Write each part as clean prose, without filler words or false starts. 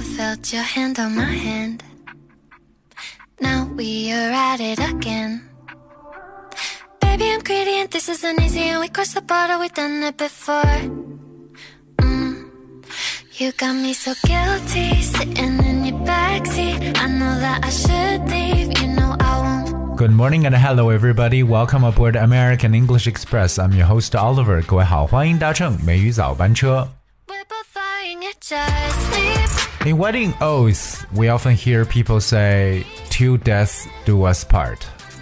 felt your hand on my hand. Now we are at it again. Baby, I'm greedy and this isn't easy. And we crossed the border, we've done it before. You got me so guilty, sitting in your backseat. I know that I should leave, you know I won't. Good morning and hello everybody. Welcome aboard American English Express. I'm your host Oliver. 各位好，欢迎搭乘美语早班车。In wedding oaths, we often hear people say, "Till death do us part."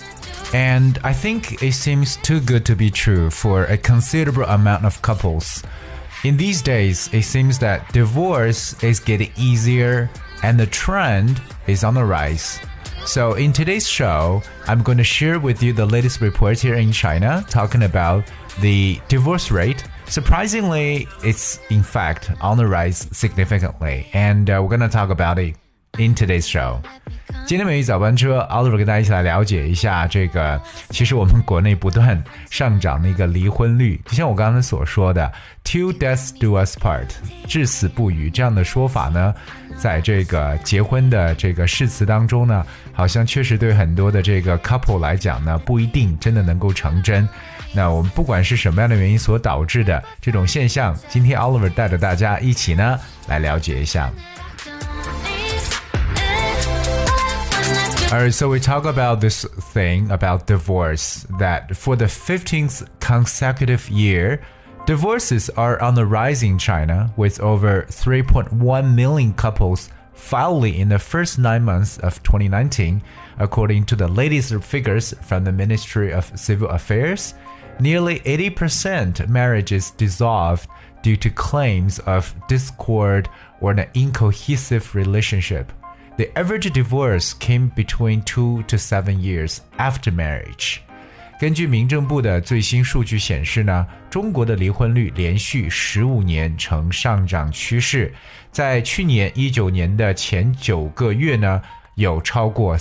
And I think it seems too good to be true for a considerable amount of couples. In these days, it seems that divorce is getting easier and the trend is on the rise. So in today's show, I'm going to share with you the latest reports here in China talking about the divorce rate. Surprisingly, it's in fact on the rise significantly, and we're going to talk about it in today's show. 今天美语早班车 Oliver 跟大家一起来了解一下这个其实我们国内不断上涨的一个离婚率，就像我刚才所说的 Till death do us part 至死不渝这样的说法呢，在这个结婚的这个誓词当中呢，好像确实对很多的这个 couple 来讲呢，不一定真的能够成真。那我们不管是什么样的原因所导致的这种现象，今天 Oliver 带着大家一起呢来了解一下。Alright, so we talk about this thing about divorce, that for the 15th consecutive year, divorces are on the rise in China, with over 3.1 million couples filing in the first 9 months of 2019, according to the latest figures from the Ministry of Civil Affairs. Nearly 80% marriages dissolved due to claims of discord or an incohesive relationship.The average divorce came between 2 to 7 years after marriage. 根据民政部的最新数据显示呢，中国的离婚率连续15年呈上涨趋势。在去年19年的前9个月呢，有超过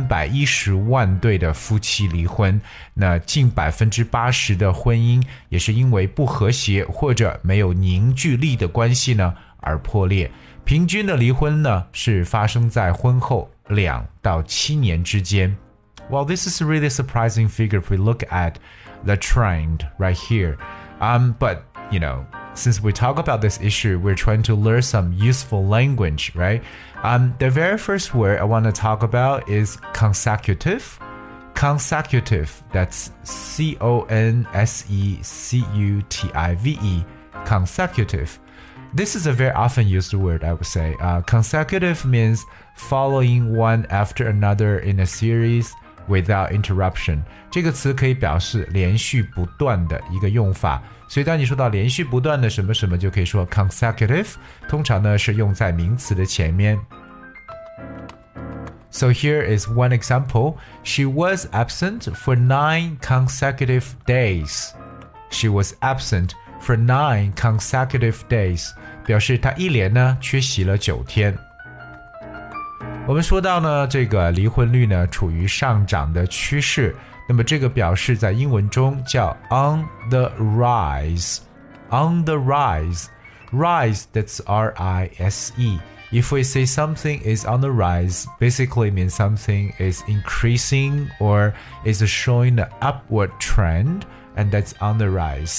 310万对的夫妻离婚，那近80%的婚姻也是因为不和谐或者没有凝聚力的关系呢而破裂。平均的离婚呢是发生在婚后2到7年之间。Well, this is a really surprising figure if we look at the trend right here. But, you know, since we talk about this issue, we're trying to learn some useful language, right? The very first word I want to talk about is consecutive. Consecutive, that's C-O-N-S-E-C-U-T-I-V-E, consecutive.This is a very often used word, I would say. Consecutive means following one after another in a series without interruption. 这个词可以表示连续不断的一个用法，所以当你说到连续不断的什么什么，就可以说 consecutive， 通常呢是用在名词的前面。So here is one example. She was absent for 9 consecutive days. She was absent.For 9 consecutive days, 表示他一连呢缺席了9天。我们说到呢，这个离婚率呢处于上涨的趋势，那么这个表示在英文中叫 on the rise. On the rise. Rise, that's R-I-S-E. If we say something is on the rise, basically means something is increasing or is showing an upward trend, and that's on the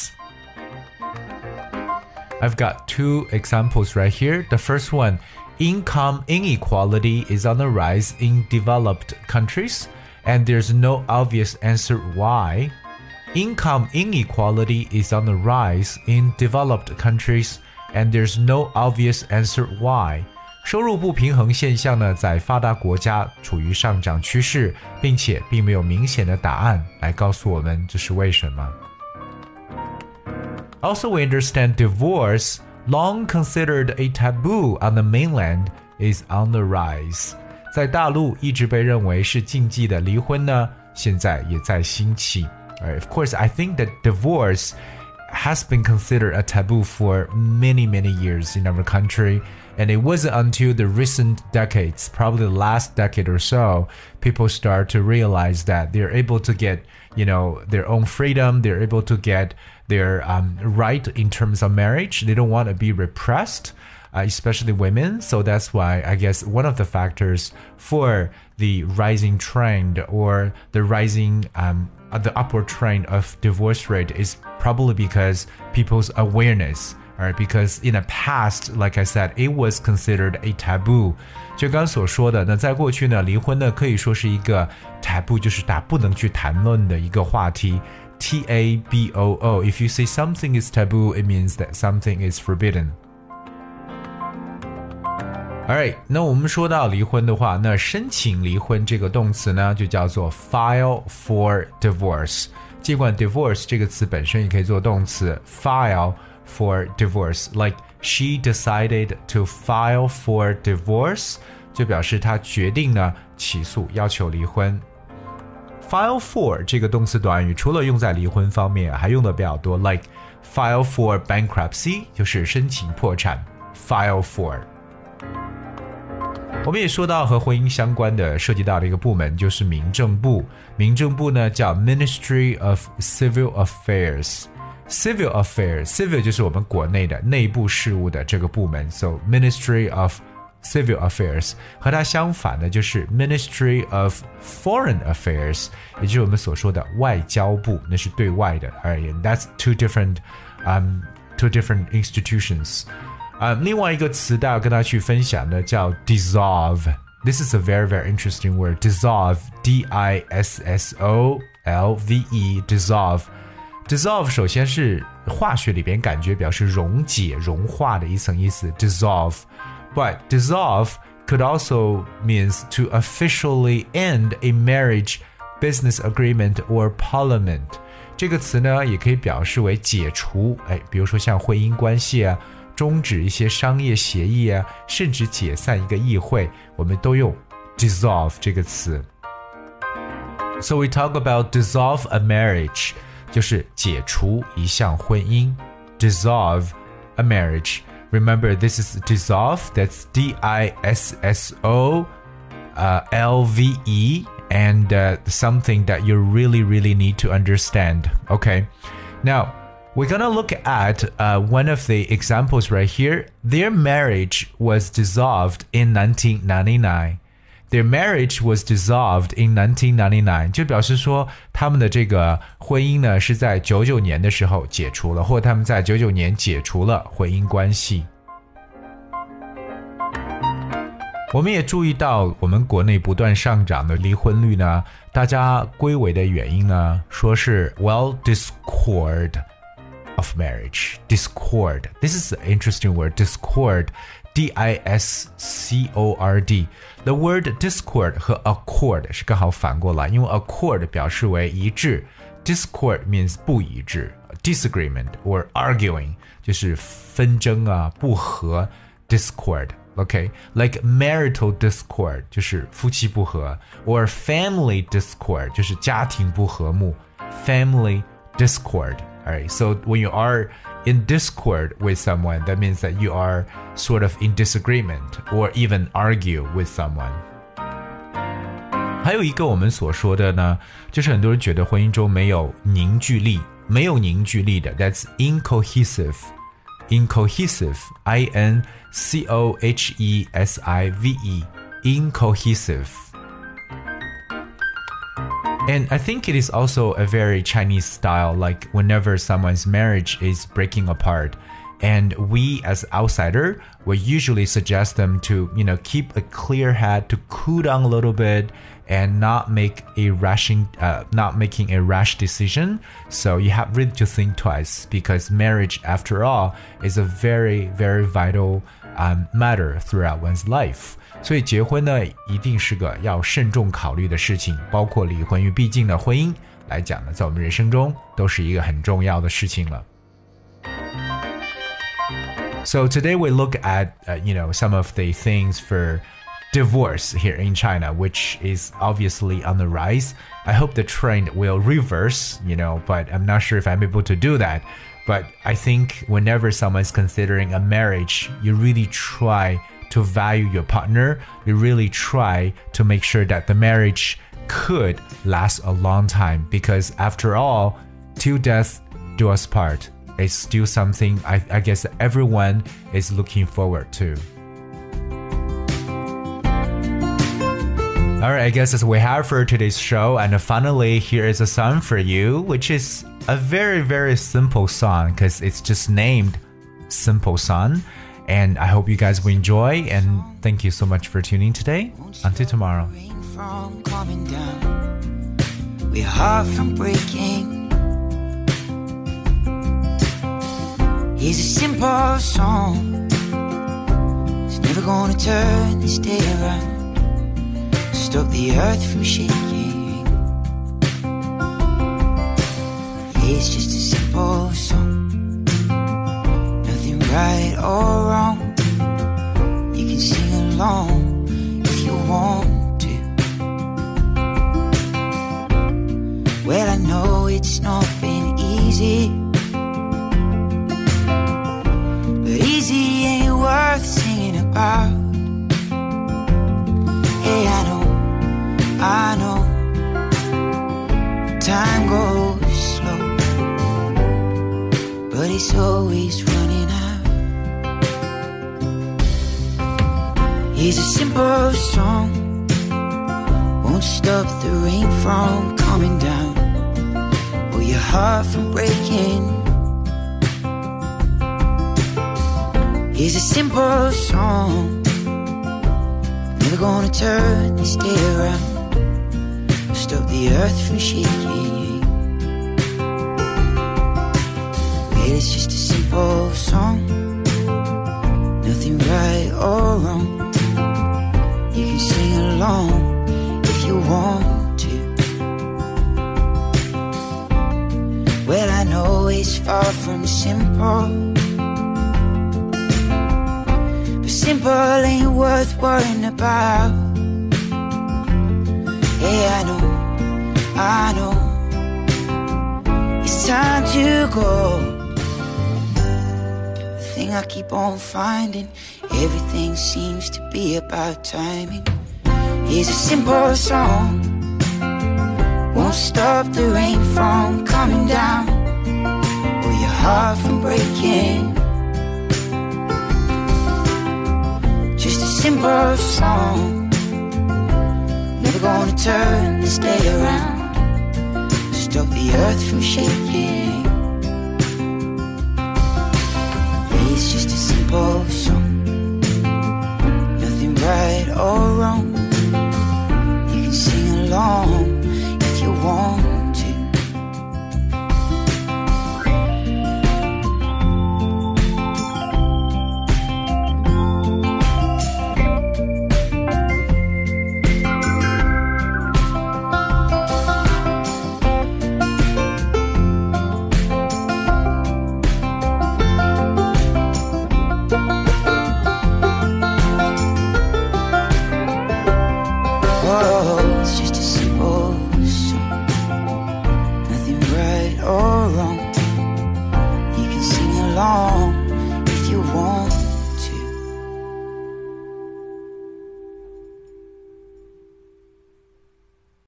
rise.I've got 2 examples right here. The first one, income inequality is on the rise in developed countries, and there's no obvious answer why. Income inequality is on the rise in developed countries, and there's no obvious answer why. 收入不平衡现象呢，在发达国家处于上涨趋势，并且并没有明显的答案来告诉我们这是为什么。Also, we understand divorce, long considered a taboo on the mainland, is on the rise. 在大陆一直被认为是禁忌的离婚呢，现在也在兴起。Of course, I think that divorce has been considered a taboo for many, many years in our country. And it wasn't until the recent decades, probably the last decade or so, people start to realize that they're able to get, you know, their own freedom. They're able to get their right in terms of marriage. They don't want to be repressed. especially women. So that's why I guess one of the factors for the rising trend or the rising the upward trend of divorce rate is probably because people's awareness. Alright, because in the past, like I said, it was considered a taboo. 就刚所说的，那在过去呢，离婚呢可以说是一个 taboo， 就是大家不能去谈论的一个话题。Taboo. If you say something is taboo, it means that something is forbidden. Alright, 那我们说到离婚的话，那申请离婚这个动词呢，就叫做 file for divorce. 尽管 divorce 这个词本身也可以做动词 file for divorce, like she decided to file for divorce, 就表示她决定呢起诉要求离婚。File for 这个动词短语除了用在离婚方面，还用的比较多 like file for bankruptcy 就是申请破产 file for。 我们也说到和婚姻相关的涉及到的一个部门就是民政部，民政部呢叫 Ministry of Civil Affairs。Civil Affairs, Civil 就是我们国内的内部事务的这个部门 So Ministry of Civil Affairs 和它相反的就是 Ministry of Foreign Affairs 也就是我们所说的外交部那是对外的 Alright, that's two different institutions 另外一个词大家跟大家去分享的叫 dissolve This is a very, very interesting word Dissolve, D-I-S-S-O-L-V-E Dissolve首先是化学里边感觉表示溶解融化的一层意思 dissolve But dissolve could also means to officially end a marriage, business agreement or parliament 这个词呢也可以表示为解除比如说像婚姻关系啊终止一些商业协议啊甚至解散一个议会我们都用 dissolve 这个词 So we talk about dissolve a marriage就是解除一项婚姻 dissolve a marriage. Remember, this is dissolve, that's D-I-S-S-O-L-V-E and something that you really, really need to understand. Okay, now we're gonna look at one of the examples right here. Their marriage was dissolved in 1999.Their marriage was dissolved in 1999 就表示说他们的这个婚姻呢是在99年的时候解除了或者他们在99年解除了婚姻关系我们也注意到我们国内不断上涨的离婚率呢大家归为的原因呢说是 well discord of marriage discord This is an interesting word discord D-I-S-C-O-R-D The word discord 和 accord 是刚好反过来因为 accord 表示为一致 Discord means 不一致 Disagreement or arguing 就是纷争啊不和 Discord Okay, like marital discord 就是夫妻不和 or family discord 就是家庭不和睦 Family discord Alright, so when you are in discord with someone, that means that you are sort of in disagreement or even argue with someone. 还有一个我们所说的呢，就是很多人觉得婚姻中没有凝聚力，没有凝聚力的 ，that's incohesive. Incohesive, I-N-C-O-H-E-S-I-V-E, incohesive.And I think it is also a very Chinese style, like whenever someone's marriage is breaking apart, and we as outsider will usually suggest them to, keep a clear head, to cool down a little bit, and not making a rash decision. So you have really to think twice, because marriage, after all, is a very, very vital matter throughout one's life.所以结婚呢一定是个要慎重考虑的事情包括离婚因为毕竟呢婚姻来讲呢在我们人生中都是一个很重要的事情了 So today we look at some of the things for divorce here in China which is obviously on the rise I hope the trend will reverse but I'm not sure if I'm able to do that but I think whenever someone's considering a marriage you really try to value your partner, you really try to make sure that the marriage could last a long time because after all, till death do us part. is still something I guess everyone is looking forward to. Alright, I guess that's what we have for today's show. And finally, here is a song for you, which is a very, very simple song because it's just named Simple Song. And I hope you guys will enjoy. And thank you so much for tuning today. Until tomorrow. We're hard from breaking. Here's a simple song. It's never gonna turn this day around. Stop the earth from shaking. It's just a simple song. Nothing right or wrong. You can sing along if you want to. Well, I know it's not been easy, but easy ain't worth singing about. Hey, I know time goes slow, but it's always running out. Here's a simple song. Won't stop the rain from coming down or your heart from breaking. Here's a simple song. Never gonna turn this day around. Stop the earth from shaking. Well, it's just a simple song. Nothing right or wrong. You can sing along if you want to. Well, I know it's far from simple, but simple ain't worth worrying about. Hey, I know it's time to go. The thing I keep on finding, everything seems to be about timing. Here's a simple song. Won't stop the rain from coming down or your heart from breaking. Just a simple song. Never gonna turn this day around. Stop the earth from shaking. It's just a simple song. Nothing right or wrong. You can sing along if you want to. It's just a